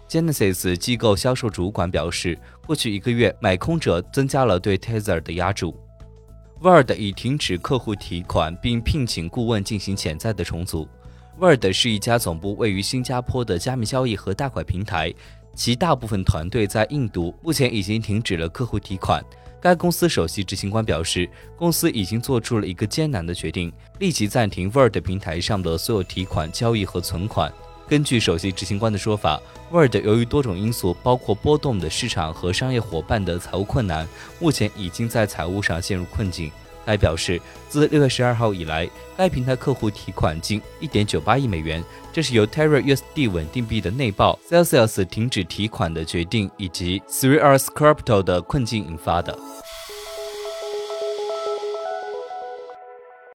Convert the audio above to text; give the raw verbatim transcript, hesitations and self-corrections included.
Genesis 机构销售主管表示，过去一个月买空者增加了对 Tether 的押注。Word 已停止客户提款，并聘请顾问进行潜在的重组。Word 是一家总部位于新加坡的加密交易和贷款平台，其大部分团队在印度，目前已经停止了客户提款。该公司首席执行官表示，公司已经做出了一个艰难的决定，立即暂停 Word 平台上的所有提款、交易和存款。根据首席执行官的说法 ，Word 由于多种因素，包括波动的市场和商业伙伴的财务困难，目前已经在财务上陷入困境。该表示，自六月十二号以来，该平台客户提款近 一点九八亿美元，这是由 Terra U S D 稳定币的内爆、Celsius 停止提款的决定以及 Three Arrows Crypto 的困境引发的。